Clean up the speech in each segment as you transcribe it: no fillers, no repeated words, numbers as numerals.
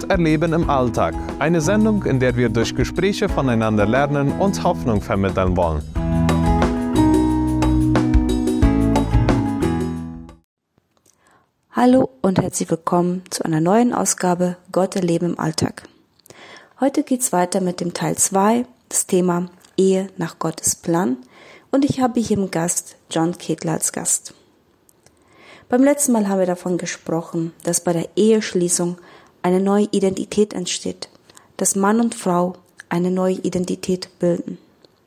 Gott erleben im Alltag. Eine Sendung, in der wir durch Gespräche voneinander lernen und Hoffnung vermitteln wollen. Hallo und herzlich willkommen zu einer neuen Ausgabe Gott erleben im Alltag. Heute geht's weiter mit dem Teil 2, das Thema Ehe nach Gottes Plan, und ich habe hier im Gast John Ketler als Gast. Beim letzten Mal haben wir davon gesprochen, dass bei der Eheschließung eine neue Identität entsteht, dass Mann und Frau eine neue Identität bilden.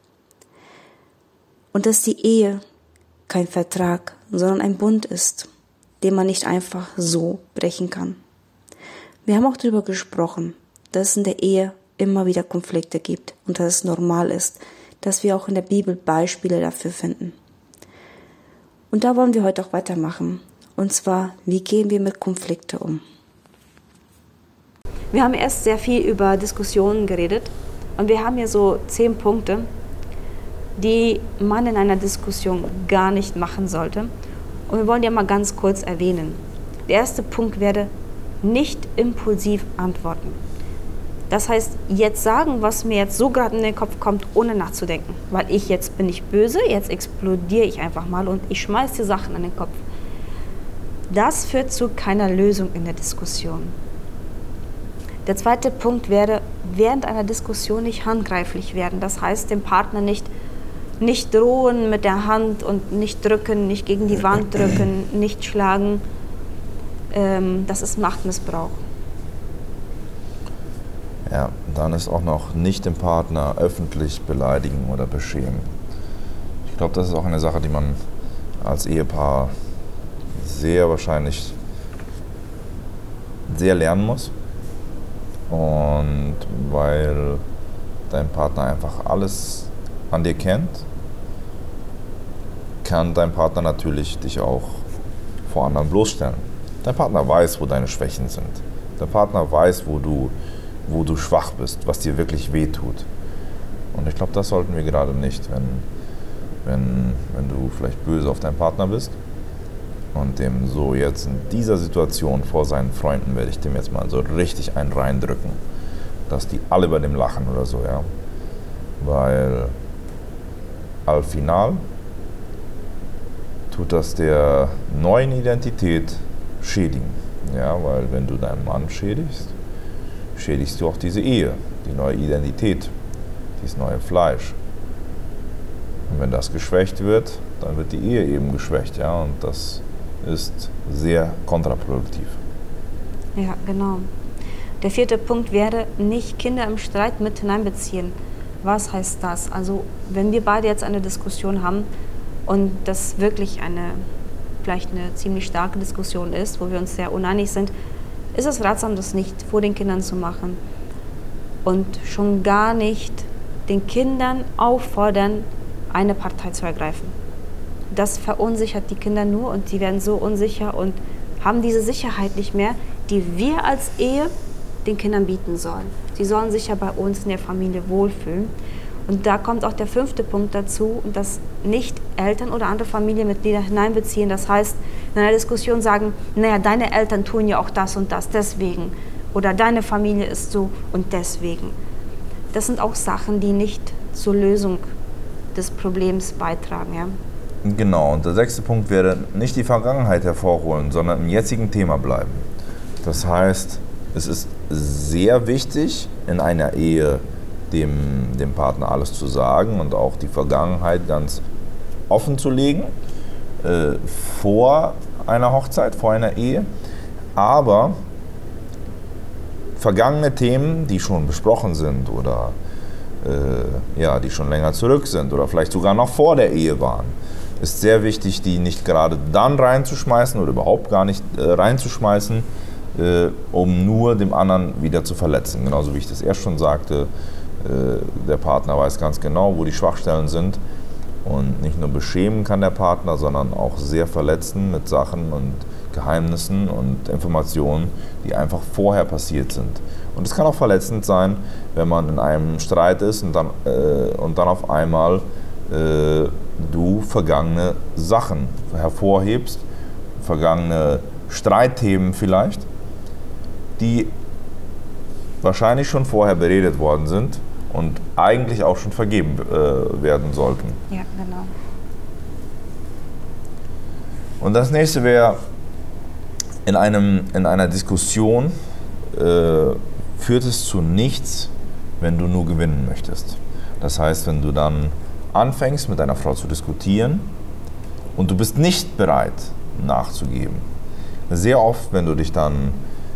Und dass die Ehe kein Vertrag, sondern ein Bund ist, den man nicht einfach so brechen kann. Wir haben auch darüber gesprochen, dass es in der Ehe immer wieder Konflikte gibt und dass es normal ist, dass wir auch in der Bibel Beispiele dafür finden. Und da wollen wir heute auch weitermachen. Und zwar, wie gehen wir mit Konflikten um? Wir haben erst sehr viel über Diskussionen geredet und wir haben hier so 10 Punkte, die man in einer Diskussion gar nicht machen sollte. Und wir wollen die mal ganz kurz erwähnen. Der erste Punkt wäre, nicht impulsiv antworten. Das heißt, jetzt sagen, was mir jetzt so gerade in den Kopf kommt, ohne nachzudenken. Weil jetzt bin ich böse, jetzt explodiere ich einfach mal und ich schmeiße die Sachen in den Kopf. Das führt zu keiner Lösung in der Diskussion. Der zweite Punkt wäre, während einer Diskussion nicht handgreiflich werden. Das heißt, dem Partner nicht drohen mit der Hand und nicht drücken, nicht gegen die Wand drücken, nicht schlagen. Das ist Machtmissbrauch. Ja, dann ist auch noch nicht den Partner öffentlich beleidigen oder beschämen. Ich glaube, das ist auch eine Sache, die man als Ehepaar sehr wahrscheinlich sehr lernen muss. Und weil dein Partner einfach alles an dir kennt, kann dein Partner natürlich dich auch vor anderen bloßstellen. Dein Partner weiß, wo deine Schwächen sind. Dein Partner weiß, wo du schwach bist, was dir wirklich wehtut. Und ich glaube, das sollten wir gerade nicht, wenn du vielleicht böse auf deinen Partner bist und dem so jetzt in dieser Situation vor seinen Freunden werde ich dem jetzt mal so richtig einen reindrücken, dass die alle bei dem lachen oder so, ja. Weil al final tut das der neuen Identität schädigen. Ja, weil wenn du deinen Mann schädigst du auch diese Ehe, die neue Identität, dieses neue Fleisch. Und wenn das geschwächt wird, dann wird die Ehe eben geschwächt, ja, und das ist sehr kontraproduktiv. Ja, genau. Der vierte Punkt wäre, nicht Kinder im Streit mit hineinbeziehen. Was heißt das? Also, wenn wir beide jetzt eine Diskussion haben und das wirklich vielleicht eine ziemlich starke Diskussion ist, wo wir uns sehr uneinig sind, ist es ratsam, das nicht vor den Kindern zu machen und schon gar nicht den Kindern auffordern, eine Partei zu ergreifen. Das verunsichert die Kinder nur und die werden so unsicher und haben diese Sicherheit nicht mehr, die wir als Ehe den Kindern bieten sollen. Sie sollen sich ja bei uns in der Familie wohlfühlen. Und da kommt auch der 5. Punkt dazu, dass nicht Eltern oder andere Familienmitglieder hineinbeziehen. Das heißt, in einer Diskussion sagen, naja, deine Eltern tun ja auch das und das, deswegen. Oder deine Familie ist so und deswegen. Das sind auch Sachen, die nicht zur Lösung des Problems beitragen. Ja? Genau, und der 6. Punkt wäre, nicht die Vergangenheit hervorholen, sondern im jetzigen Thema bleiben. Das heißt, es ist sehr wichtig, in einer Ehe dem Partner alles zu sagen und auch die Vergangenheit ganz offen zu legen, vor einer Hochzeit, vor einer Ehe. Aber vergangene Themen, die schon besprochen sind oder die schon länger zurück sind oder vielleicht sogar noch vor der Ehe waren, ist sehr wichtig, die nicht gerade dann reinzuschmeißen oder überhaupt gar nicht reinzuschmeißen, um nur dem anderen wieder zu verletzen. Genauso wie ich das erst schon sagte, der Partner weiß ganz genau, wo die Schwachstellen sind und nicht nur beschämen kann der Partner, sondern auch sehr verletzen mit Sachen und Geheimnissen und Informationen, die einfach vorher passiert sind. Und es kann auch verletzend sein, wenn man in einem Streit ist und dann auf einmal du vergangene Sachen hervorhebst, vergangene Streitthemen vielleicht, die wahrscheinlich schon vorher beredet worden sind und eigentlich auch schon vergeben werden sollten. Ja, genau. Und das nächste wäre, in einer Diskussion führt es zu nichts, wenn du nur gewinnen möchtest. Das heißt, wenn du dann anfängst, mit deiner Frau zu diskutieren und du bist nicht bereit, nachzugeben. Sehr oft, wenn du dich dann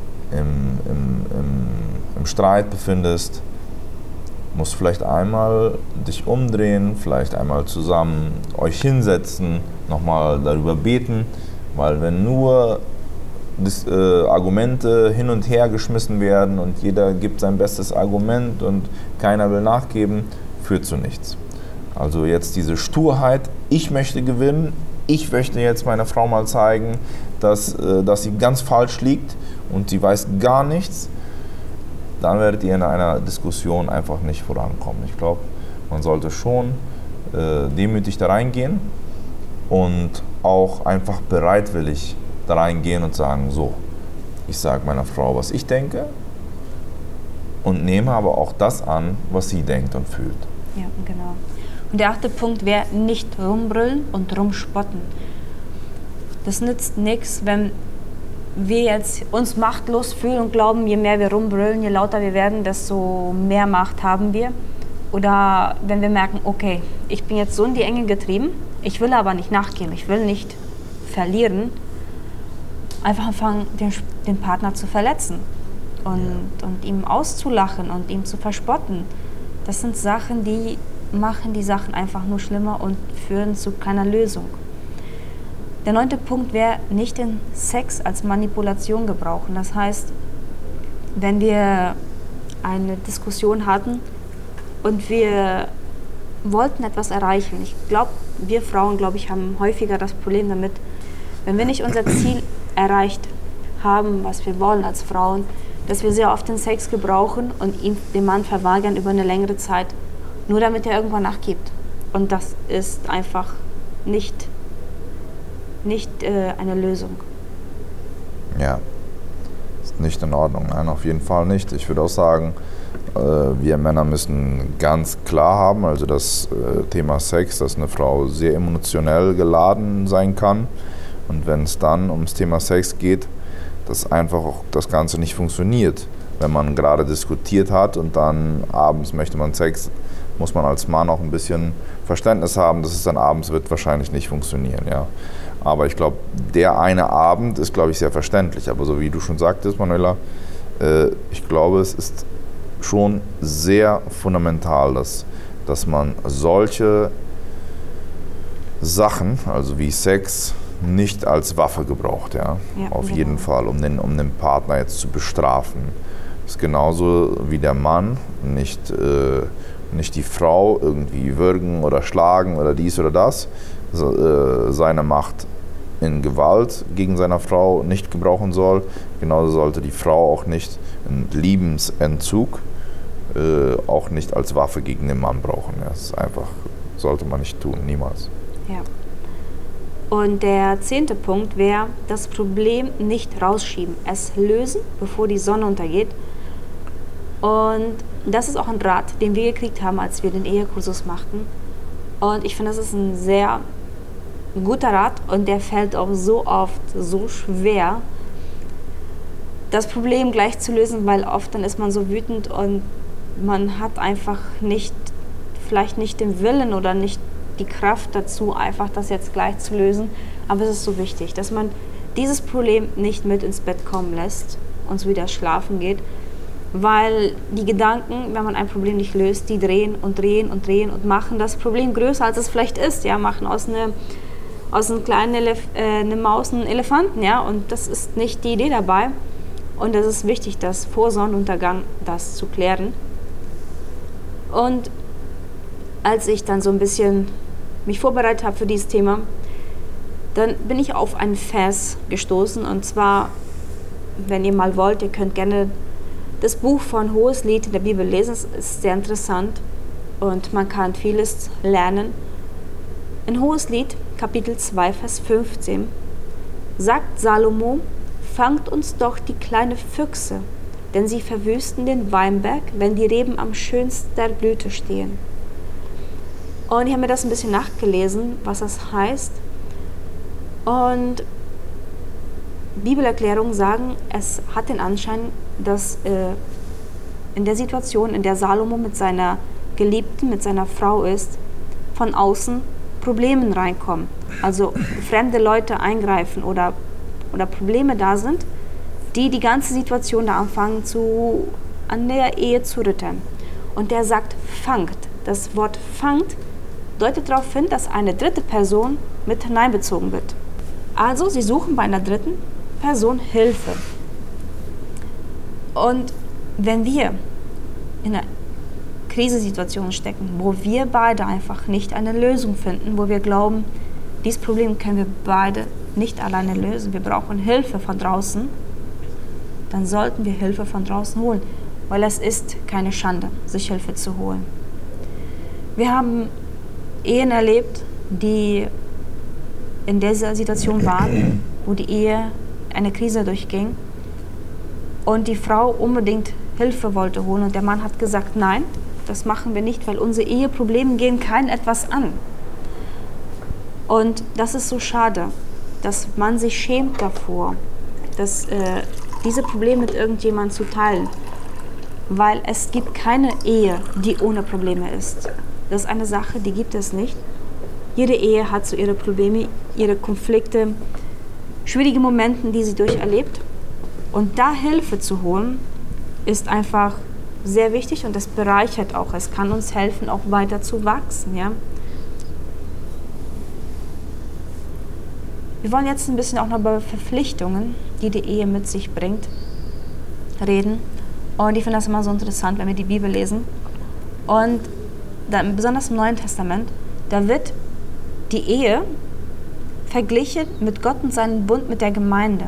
im Streit befindest, musst vielleicht einmal dich umdrehen, vielleicht einmal zusammen euch hinsetzen, nochmal darüber beten, weil wenn nur Argumente hin und her geschmissen werden und jeder gibt sein bestes Argument und keiner will nachgeben, führt zu nichts. Also jetzt diese Sturheit, ich möchte gewinnen, ich möchte jetzt meiner Frau mal zeigen, dass sie ganz falsch liegt und sie weiß gar nichts, dann werdet ihr in einer Diskussion einfach nicht vorankommen. Ich glaube, man sollte schon demütig da reingehen und auch einfach bereitwillig da reingehen und sagen, so, ich sage meiner Frau, was ich denke und nehme aber auch das an, was sie denkt und fühlt. Ja, genau. Und der 8. Punkt wäre, nicht rumbrüllen und rumspotten. Das nützt nichts, wenn wir jetzt uns machtlos fühlen und glauben, je mehr wir rumbrüllen, je lauter wir werden, desto mehr Macht haben wir. Oder wenn wir merken, okay, ich bin jetzt so in die Enge getrieben, ich will aber nicht nachgeben, ich will nicht verlieren, einfach anfangen, den Partner zu verletzen und ihm auszulachen und ihm zu verspotten. Das sind Sachen, die machen die Sachen einfach nur schlimmer und führen zu keiner Lösung. Der 9. Punkt wäre, nicht den Sex als Manipulation gebrauchen. Das heißt, wenn wir eine Diskussion hatten und wir wollten etwas erreichen, ich glaube, wir Frauen, haben häufiger das Problem damit, wenn wir nicht unser Ziel erreicht haben, was wir wollen als Frauen, dass wir sehr oft den Sex gebrauchen und ihn dem Mann verweigern über eine längere Zeit, nur damit er irgendwann nachgibt. Und das ist einfach nicht eine Lösung. Ja, ist nicht in Ordnung. Nein, auf jeden Fall nicht. Ich würde auch sagen, wir Männer müssen ganz klar haben, also das Thema Sex, dass eine Frau sehr emotionell geladen sein kann. Und wenn es dann ums Thema Sex geht, dass einfach auch das Ganze nicht funktioniert. Wenn man gerade diskutiert hat und dann abends möchte man Sex, muss man als Mann auch ein bisschen Verständnis haben, dass es dann abends wird wahrscheinlich nicht funktionieren. Ja. Aber ich glaube, der eine Abend ist, sehr verständlich. Aber so wie du schon sagtest, Manuela, ich glaube, es ist schon sehr fundamental, dass man solche Sachen, also wie Sex, nicht als Waffe gebraucht, ja, auf jeden Fall, um den Partner jetzt zu bestrafen. Das ist genauso wie der Mann nicht die Frau irgendwie würgen oder schlagen oder dies oder das, seine Macht in Gewalt gegen seine Frau nicht gebrauchen soll. Genauso sollte die Frau auch nicht einen Liebensentzug auch nicht als Waffe gegen den Mann brauchen. Ja, das ist einfach, sollte man nicht tun, niemals. Ja. Und der 10. Punkt wäre, das Problem nicht rausschieben, es lösen, bevor die Sonne untergeht. Und das ist auch ein Rat, den wir gekriegt haben, als wir den Ehekursus machten. Und ich finde, das ist ein sehr guter Rat und der fällt auch so oft so schwer, das Problem gleich zu lösen, weil oft dann ist man so wütend und man hat einfach vielleicht nicht den Willen oder nicht die Kraft dazu, einfach das jetzt gleich zu lösen. Aber es ist so wichtig, dass man dieses Problem nicht mit ins Bett kommen lässt und so wieder schlafen geht, weil die Gedanken, wenn man ein Problem nicht löst, die drehen und drehen und drehen und machen das Problem größer, als es vielleicht ist. Ja, machen aus einem kleinen eine Maus einen Elefanten, ja, und das ist nicht die Idee dabei. Und es ist wichtig, das vor Sonnenuntergang das zu klären. Und als ich dann so ein bisschen mich vorbereitet habe für dieses Thema, dann bin ich auf einen Vers gestoßen. Und zwar, wenn ihr mal wollt, ihr könnt gerne das Buch von Hoheslied in der Bibel lesen. Es ist sehr interessant und man kann vieles lernen. In Hoheslied, Kapitel 2, Vers 15, sagt Salomo, fangt uns doch die kleinen Füchse denn sie verwüsten den Weinberg, wenn die Reben am schönsten der Blüte stehen. Und ich habe mir das ein bisschen nachgelesen, was das heißt. Und Bibelerklärungen sagen, es hat den Anschein, dass in der Situation, in der Salomo mit seiner Geliebten, mit seiner Frau ist, von außen Probleme reinkommen. Also fremde Leute eingreifen oder Probleme da sind, die ganze Situation da anfangen an der Ehe zu rütteln. Und der sagt, fangt. Das Wort fangt deutet darauf hin, dass eine dritte Person mit hineinbezogen wird. Also sie suchen bei einer dritten Person Hilfe. Und wenn wir in einer Krisensituation stecken, wo wir beide einfach nicht eine Lösung finden, wo wir glauben, dieses Problem können wir beide nicht alleine lösen, wir brauchen Hilfe von draußen, dann sollten wir Hilfe von draußen holen, weil es ist keine Schande, sich Hilfe zu holen. Wir haben Ehen erlebt, die in dieser Situation waren, wo die Ehe eine Krise durchging und die Frau unbedingt Hilfe wollte holen und der Mann hat gesagt, nein, das machen wir nicht, weil unsere Eheprobleme gehen keinen etwas an. Und das ist so schade, dass man sich schämt davor, diese Probleme mit irgendjemandem zu teilen, weil es gibt keine Ehe, die ohne Probleme ist. Das ist eine Sache, die gibt es nicht. Jede Ehe hat so ihre Probleme, ihre Konflikte, schwierige Momente, die sie durcherlebt. Und da Hilfe zu holen, ist einfach sehr wichtig und das bereichert auch. Es kann uns helfen, auch weiter zu wachsen. Ja? Wir wollen jetzt ein bisschen auch noch über Verpflichtungen, die die Ehe mit sich bringt, reden. Und ich finde das immer so interessant, wenn wir die Bibel lesen. Und dann, besonders im Neuen Testament, da wird die Ehe verglichen mit Gott und seinen Bund mit der Gemeinde.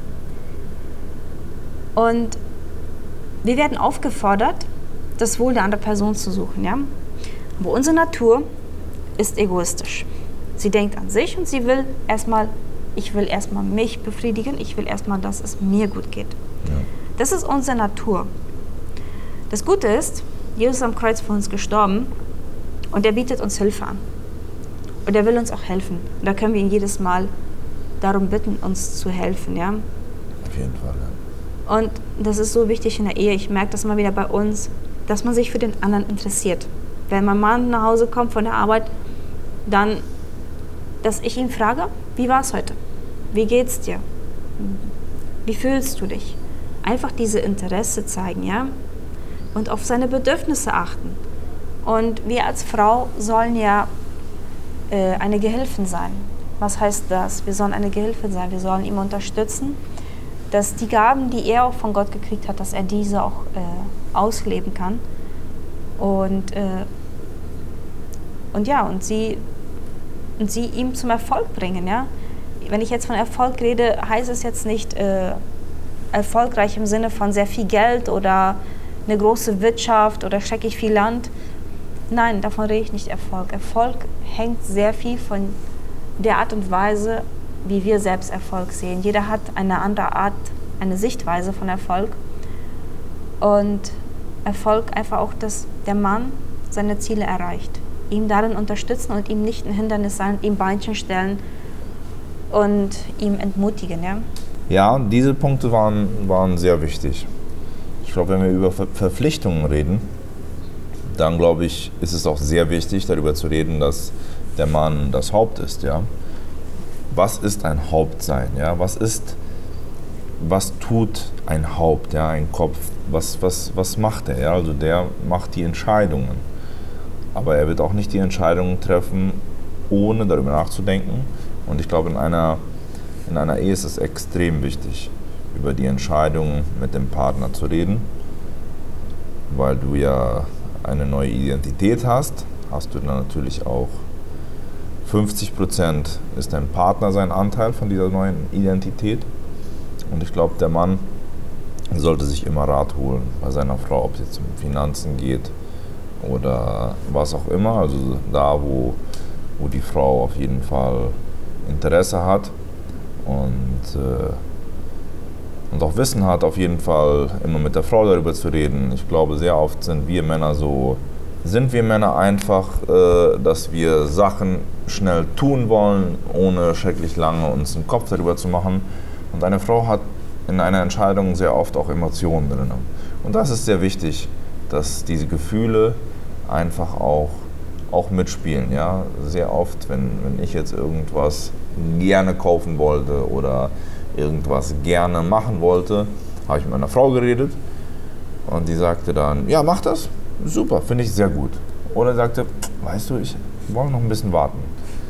Und wir werden aufgefordert, das Wohl der anderen Person zu suchen. Ja? Aber unsere Natur ist egoistisch. Sie denkt an sich und sie will erstmal, ich will erstmal mich befriedigen, ich will erstmal, dass es mir gut geht. Ja. Das ist unsere Natur. Das Gute ist, Jesus ist am Kreuz für uns gestorben und er bietet uns Hilfe an. Und er will uns auch helfen. Und da können wir ihn jedes Mal darum bitten, uns zu helfen. Ja? Auf jeden Fall, ja. Und das ist so wichtig in der Ehe. Ich merke das immer wieder bei uns, dass man sich für den anderen interessiert. Wenn mein Mann nach Hause kommt von der Arbeit, dann, dass ich ihn frage, wie war es heute? Wie geht's dir? Wie fühlst du dich? Einfach diese Interesse zeigen, ja? Und auf seine Bedürfnisse achten. Und wir als Frau sollen ja eine Gehilfin sein. Was heißt das? Wir sollen eine Gehilfin sein. Wir sollen ihm unterstützen, dass die Gaben, die er auch von Gott gekriegt hat, dass er diese auch ausleben kann. Und sie ihm zum Erfolg bringen. Ja? Wenn ich jetzt von Erfolg rede, heißt es jetzt nicht erfolgreich im Sinne von sehr viel Geld oder eine große Wirtschaft oder schrecklich viel Land. Nein, davon rede ich nicht Erfolg. Erfolg hängt sehr viel von der Art und Weise, wie wir selbst Erfolg sehen. Jeder hat eine andere Art, eine Sichtweise von Erfolg. Und Erfolg einfach auch, dass der Mann seine Ziele erreicht. Ihm darin unterstützen und ihm nicht ein Hindernis sein, ihm Beinchen stellen und ihm entmutigen. Ja, ja, diese Punkte waren sehr wichtig. Ich glaube, wenn wir über Verpflichtungen reden, dann glaube ich, ist es auch sehr wichtig, darüber zu reden, dass der Mann das Haupt ist. Ja? Was ist ein Hauptsein? Ja? Was tut ein Haupt, ja? Ein Kopf? Was macht er? Ja? Also der macht die Entscheidungen. Aber er wird auch nicht die Entscheidungen treffen, ohne darüber nachzudenken. Und ich glaube, in einer Ehe ist es extrem wichtig, über die Entscheidungen mit dem Partner zu reden, weil du ja eine neue Identität hast du dann natürlich auch 50% ist dein Partner sein Anteil von dieser neuen Identität. Und ich glaube, der Mann sollte sich immer Rat holen bei seiner Frau, ob es jetzt um Finanzen geht oder was auch immer. Also da, wo die Frau auf jeden Fall Interesse hat. Und und auch Wissen hat, auf jeden Fall immer mit der Frau darüber zu reden. Ich glaube, sehr oft sind wir Männer einfach, dass wir Sachen schnell tun wollen, ohne schrecklich lange uns einen Kopf darüber zu machen. Und eine Frau hat in einer Entscheidung sehr oft auch Emotionen drin. Und das ist sehr wichtig, dass diese Gefühle einfach auch mitspielen. Ja? Sehr oft, wenn ich jetzt irgendwas gerne kaufen wollte oder irgendwas gerne machen wollte, habe ich mit meiner Frau geredet und die sagte dann, ja, mach das, super, finde ich sehr gut. Oder sagte, weißt du, ich wollte noch ein bisschen warten.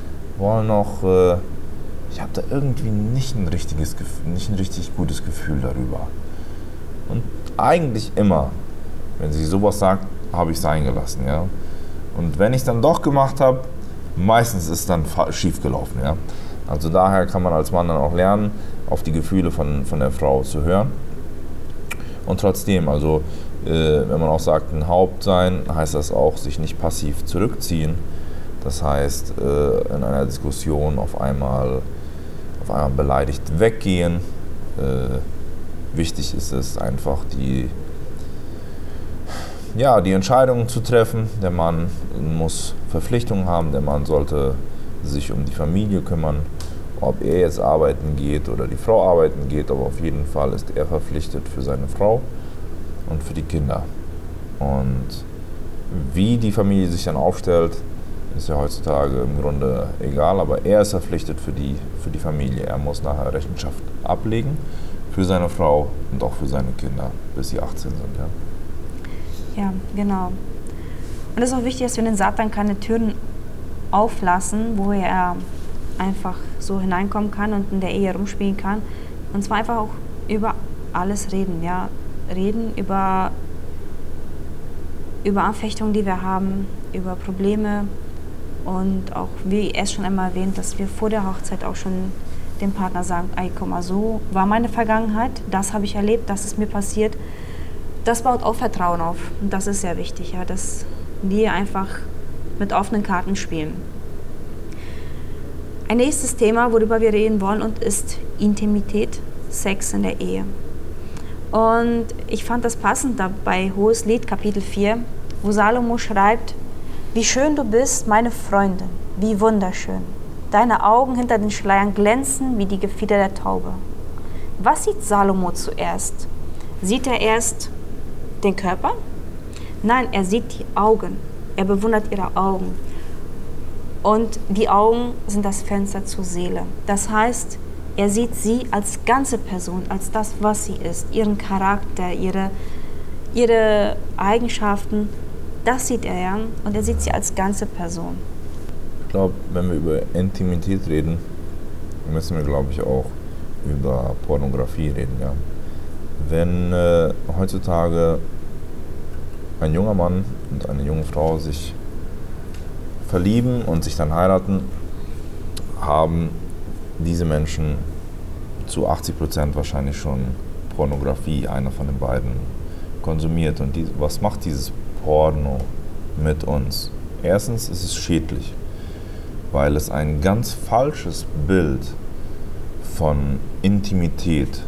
Ich habe da irgendwie nicht ein richtig gutes Gefühl darüber. Und eigentlich immer, wenn sie sowas sagt, habe ich es eingelassen. Ja? Und wenn ich es dann doch gemacht habe, meistens ist es dann schief gelaufen. Ja? Also daher kann man als Mann dann auch lernen, auf die Gefühle von der Frau zu hören. Und trotzdem, also wenn man auch sagt, ein Haupt sein, heißt das auch, sich nicht passiv zurückziehen. Das heißt, in einer Diskussion auf einmal beleidigt weggehen. Wichtig ist es einfach, die Entscheidungen zu treffen. Der Mann muss Verpflichtungen haben, der Mann sollte sich um die Familie kümmern. Ob er jetzt arbeiten geht oder die Frau arbeiten geht, aber auf jeden Fall ist er verpflichtet für seine Frau und für die Kinder. Und wie die Familie sich dann aufstellt, ist ja heutzutage im Grunde egal, aber er ist verpflichtet für die Familie. Er muss nachher Rechenschaft ablegen für seine Frau und auch für seine Kinder, bis sie 18 sind. Ja, genau. Und es ist auch wichtig, dass wir den Satan keine Türen auflassen, wo er einfach so hineinkommen kann und in der Ehe rumspielen kann. Und zwar einfach auch über alles reden. Ja? Reden über Anfechtungen, die wir haben, über Probleme. Und auch, wie er es schon einmal erwähnt, dass wir vor der Hochzeit auch schon dem Partner sagen, ey, guck mal, so war meine Vergangenheit, das habe ich erlebt, das ist mir passiert. Das baut auch Vertrauen auf. Und das ist sehr wichtig, ja, dass wir einfach mit offenen Karten spielen. Ein nächstes Thema, worüber wir reden wollen, ist Intimität, Sex in der Ehe. Und ich fand das passend da bei Hoheslied, Kapitel 4, wo Salomo schreibt, wie schön du bist, meine Freundin, wie wunderschön. Deine Augen hinter den Schleiern glänzen wie die Gefieder der Taube. Was sieht Salomo zuerst? Sieht er erst den Körper? Nein, er sieht die Augen. Er bewundert ihre Augen. Und die Augen sind das Fenster zur Seele. Das heißt, er sieht sie als ganze Person, als das, was sie ist, ihren Charakter, ihre Eigenschaften. Das sieht er ja und er sieht sie als ganze Person. Ich glaube, wenn wir über Intimität reden, müssen wir, glaube ich, auch über Pornografie reden. Ja? Wenn heutzutage ein junger Mann und eine junge Frau sich verlieben und sich dann heiraten, haben diese Menschen zu 80% wahrscheinlich schon Pornografie, einer von den beiden, konsumiert. Und was macht dieses Porno mit uns? Erstens ist es schädlich, weil es ein ganz falsches Bild von Intimität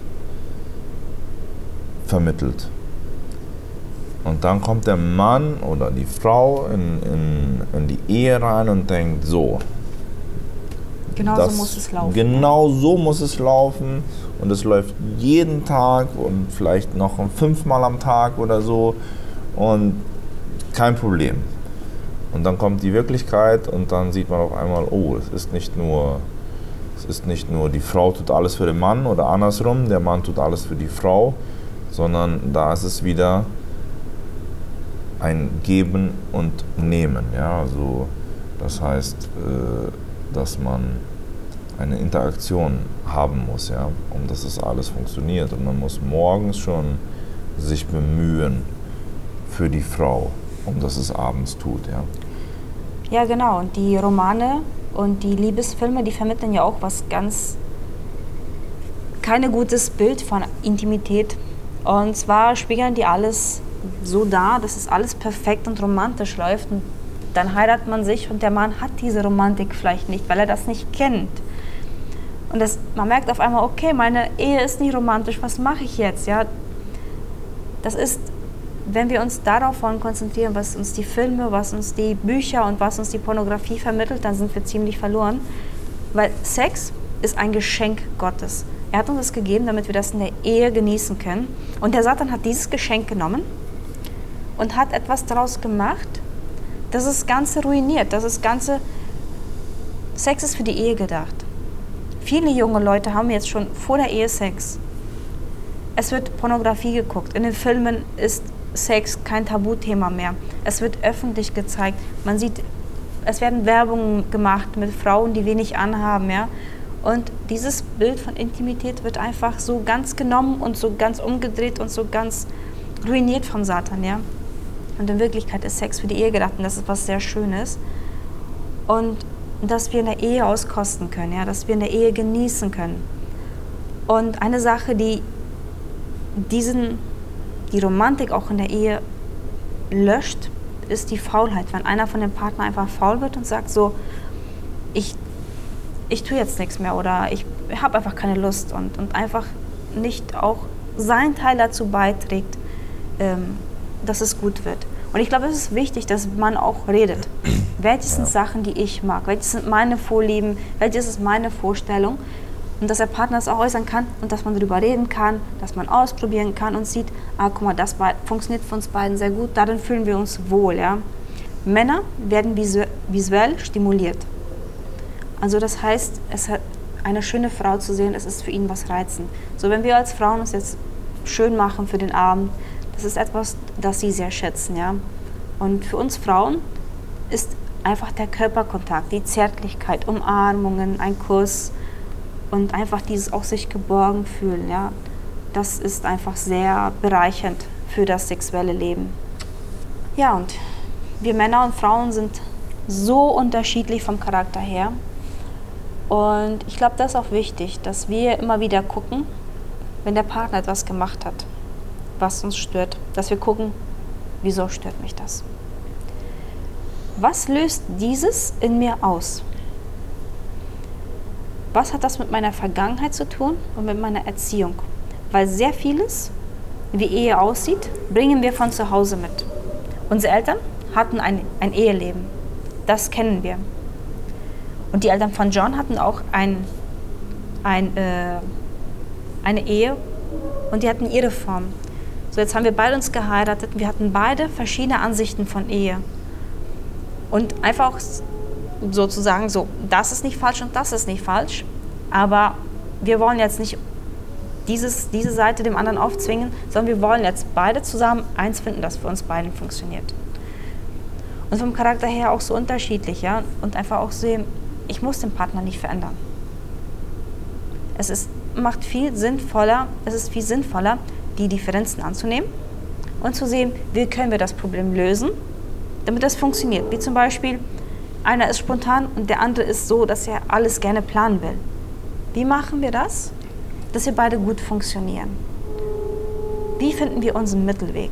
vermittelt. Und dann kommt der Mann oder die Frau in die Ehe rein und denkt, so. Genau so muss es laufen. Genau so muss es laufen. Und es läuft jeden Tag und vielleicht noch 5-mal am Tag oder so. Und kein Problem. Und dann kommt die Wirklichkeit und dann sieht man auf einmal, oh, es ist nicht nur die Frau tut alles für den Mann oder andersrum, der Mann tut alles für die Frau, sondern da ist es wieder ein Geben und Nehmen. Ja? Also, das heißt, dass man eine Interaktion haben muss, ja? Dass das alles funktioniert. Und man muss morgens schon sich bemühen für die Frau, dass es abends tut. Ja, ja, genau. Und die Romane und die Liebesfilme, die vermitteln ja auch kein gutes Bild von Intimität. Und zwar spiegeln die alles so dar, dass es alles perfekt und romantisch läuft. Und dann heiratet man sich und der Mann hat diese Romantik vielleicht nicht, weil er das nicht kennt. Und man merkt auf einmal, okay, meine Ehe ist nicht romantisch, was mache ich jetzt? Ja? Das ist, wenn wir uns darauf wollen konzentrieren, was uns die Filme, was uns die Bücher und was uns die Pornografie vermittelt, dann sind wir ziemlich verloren. Weil Sex ist ein Geschenk Gottes. Er hat uns das gegeben, damit wir das in der Ehe genießen können. Und der Satan hat dieses Geschenk genommen und hat etwas daraus gemacht, das das Ganze ruiniert. Sex ist für die Ehe gedacht. Viele junge Leute haben jetzt schon vor der Ehe Sex. Es wird Pornografie geguckt. In den Filmen ist Sex kein Tabuthema mehr. Es wird öffentlich gezeigt. Man sieht, es werden Werbungen gemacht mit Frauen, die wenig anhaben. Ja? Und dieses Bild von Intimität wird einfach so ganz genommen und so ganz umgedreht und so ganz ruiniert vom Satan. Ja? Und in Wirklichkeit ist Sex für die Ehe gedacht und das ist was sehr Schönes. Und dass wir in der Ehe auskosten können, ja? Dass wir in der Ehe genießen können. Und eine Sache, die die Romantik auch in der Ehe löscht, ist die Faulheit. Wenn einer von den Partnern einfach faul wird und sagt so, ich tue jetzt nichts mehr oder ich habe einfach keine Lust und einfach nicht auch sein Teil dazu beiträgt, dass es gut wird. Und ich glaube, es ist wichtig, dass man auch redet. Welches sind Sachen, die ich mag? Welches sind meine Vorlieben? Welches ist meine Vorstellung? Und dass der Partner es auch äußern kann und dass man darüber reden kann, dass man ausprobieren kann und sieht, guck mal, das funktioniert für uns beiden sehr gut, darin fühlen wir uns wohl. Ja? Männer werden visuell stimuliert. Also das heißt, eine schöne Frau zu sehen, es ist für ihn was reizend. So, wenn wir als Frauen uns jetzt schön machen für den Abend, das ist etwas, das sie sehr schätzen. Ja? Und für uns Frauen ist einfach der Körperkontakt, die Zärtlichkeit, Umarmungen, ein Kuss und einfach dieses auch sich geborgen fühlen. Ja? Das ist einfach sehr bereichernd für das sexuelle Leben. Ja, und wir Männer und Frauen sind so unterschiedlich vom Charakter her. Und ich glaube, das ist auch wichtig, dass wir immer wieder gucken, wenn der Partner etwas gemacht hat, was uns stört, dass wir gucken, wieso stört mich das? Was löst dieses in mir aus? Was hat das mit meiner Vergangenheit zu tun und mit meiner Erziehung? Weil sehr vieles, wie Ehe aussieht, bringen wir von zu Hause mit. Unsere Eltern hatten ein Eheleben. Das kennen wir. Und die Eltern von John hatten auch eine Ehe und die hatten ihre Form. So, jetzt haben wir beide uns geheiratet. Wir hatten beide verschiedene Ansichten von Ehe. Und einfach sozusagen so, das ist nicht falsch und das ist nicht falsch. Aber wir wollen jetzt nicht diese Seite dem anderen aufzwingen, sondern wir wollen jetzt beide zusammen eins finden, das für uns beiden funktioniert. Und vom Charakter her auch so unterschiedlich, ja. Und einfach auch sehen, ich muss den Partner nicht verändern. Es ist viel sinnvoller, die Differenzen anzunehmen und zu sehen, wie können wir das Problem lösen, damit das funktioniert. Wie zum Beispiel, einer ist spontan und der andere ist so, dass er alles gerne planen will. Wie machen wir das, dass wir beide gut funktionieren? Wie finden wir unseren Mittelweg?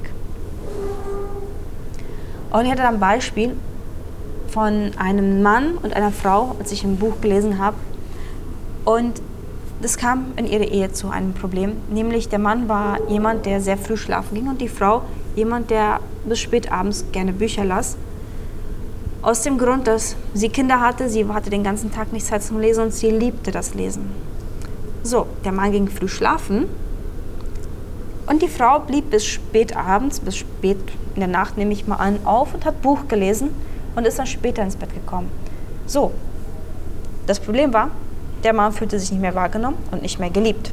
Und ich hatte da ein Beispiel von einem Mann und einer Frau, als ich ein Buch gelesen habe. Und das kam in ihrer Ehe zu einem Problem. Nämlich der Mann war jemand, der sehr früh schlafen ging und die Frau jemand, der bis spät abends gerne Bücher las. Aus dem Grund, dass sie Kinder hatte, sie hatte den ganzen Tag nicht Zeit zum Lesen und sie liebte das Lesen. So, der Mann ging früh schlafen und die Frau blieb bis spät abends, bis spät in der Nacht, nehme ich mal an, auf und hat Buch gelesen und ist dann später ins Bett gekommen. So, das Problem war, der Mann fühlte sich nicht mehr wahrgenommen und nicht mehr geliebt.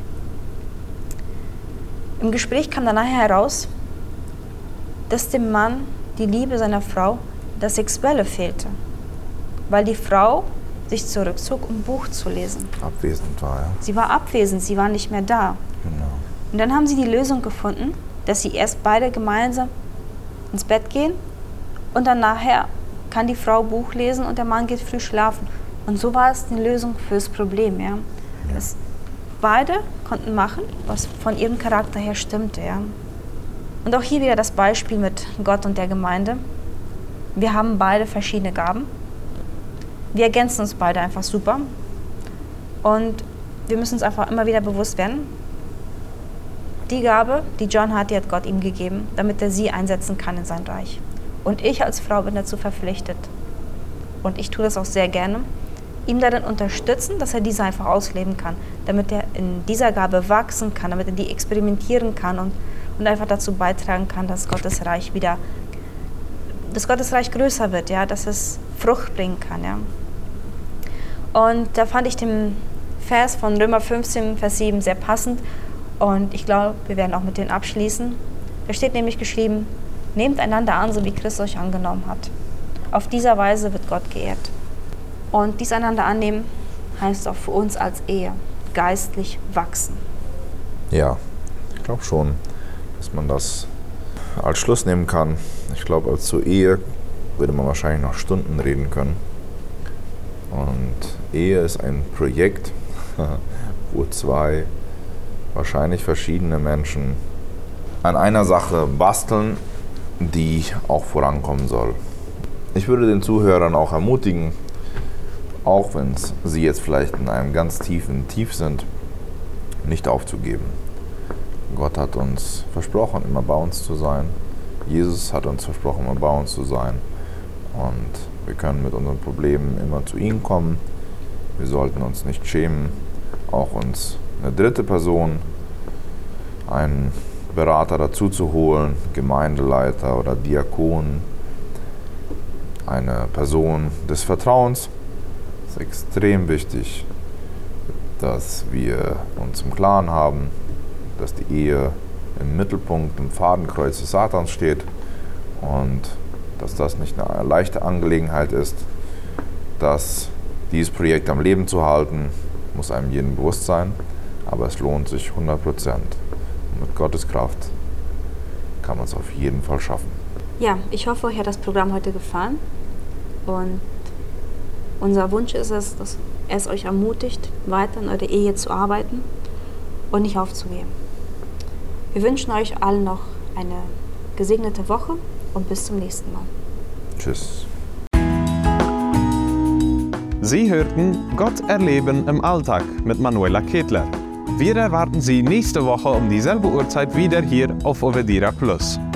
Im Gespräch kam dann nachher heraus, dass dem Mann die Liebe seiner Frau, das Sexuelle fehlte, weil die Frau sich zurückzog, um Buch zu lesen. Abwesend war, ja. Sie war abwesend, sie war nicht mehr da. Genau. Und dann haben sie die Lösung gefunden, dass sie erst beide gemeinsam ins Bett gehen und dann nachher kann die Frau Buch lesen und der Mann geht früh schlafen. Und so war es die Lösung fürs Problem, ja. Dass beide konnten machen, was von ihrem Charakter her stimmte, ja. Und auch hier wieder das Beispiel mit Gott und der Gemeinde. Wir haben beide verschiedene Gaben. Wir ergänzen uns beide einfach super. Und wir müssen uns einfach immer wieder bewusst werden, die Gabe, die John hat, die hat Gott ihm gegeben, damit er sie einsetzen kann in sein Reich. Und ich als Frau bin dazu verpflichtet. Und ich tue das auch sehr gerne, ihm darin unterstützen, dass er diese einfach ausleben kann, damit er in dieser Gabe wachsen kann, damit er die experimentieren kann und einfach dazu beitragen kann, dass Gottes Reich größer wird, ja, dass es Frucht bringen kann. Ja. Und da fand ich den Vers von Römer 15, Vers 7 sehr passend und ich glaube, wir werden auch mit denen abschließen. Da steht nämlich geschrieben, nehmt einander an, so wie Christus euch angenommen hat. Auf dieser Weise wird Gott geehrt. Und dies einander annehmen heißt auch für uns als Ehe geistlich wachsen. Ja, ich glaube schon, dass man das als Schluss nehmen kann. Ich glaube, als zur Ehe würde man wahrscheinlich noch Stunden reden können. Und Ehe ist ein Projekt, wo zwei wahrscheinlich verschiedene Menschen an einer Sache basteln, die auch vorankommen soll. Ich würde den Zuhörern auch ermutigen, auch wenn sie jetzt vielleicht in einem ganz tiefen Tief sind, nicht aufzugeben. Gott hat uns versprochen, immer bei uns zu sein. Jesus hat uns versprochen, immer bei uns zu sein. Und wir können mit unseren Problemen immer zu ihm kommen. Wir sollten uns nicht schämen, auch uns eine dritte Person, einen Berater dazu zu holen, Gemeindeleiter oder Diakon, eine Person des Vertrauens. Es ist extrem wichtig, dass wir uns im Klaren haben, dass die Ehe im Mittelpunkt, im Fadenkreuz des Satans steht und dass das nicht eine leichte Angelegenheit ist, dass dieses Projekt am Leben zu halten, muss einem jedem bewusst sein, aber es lohnt sich 100%. Und mit Gottes Kraft kann man es auf jeden Fall schaffen. Ja, ich hoffe, euch hat das Programm heute gefallen und unser Wunsch ist es, dass es euch ermutigt, weiter in eurer Ehe zu arbeiten und nicht aufzugeben. Wir wünschen euch allen noch eine gesegnete Woche und bis zum nächsten Mal. Tschüss. Sie hörten Gott erleben im Alltag mit Manuela Ketler. Wir erwarten Sie nächste Woche um dieselbe Uhrzeit wieder hier auf Ovedira Plus.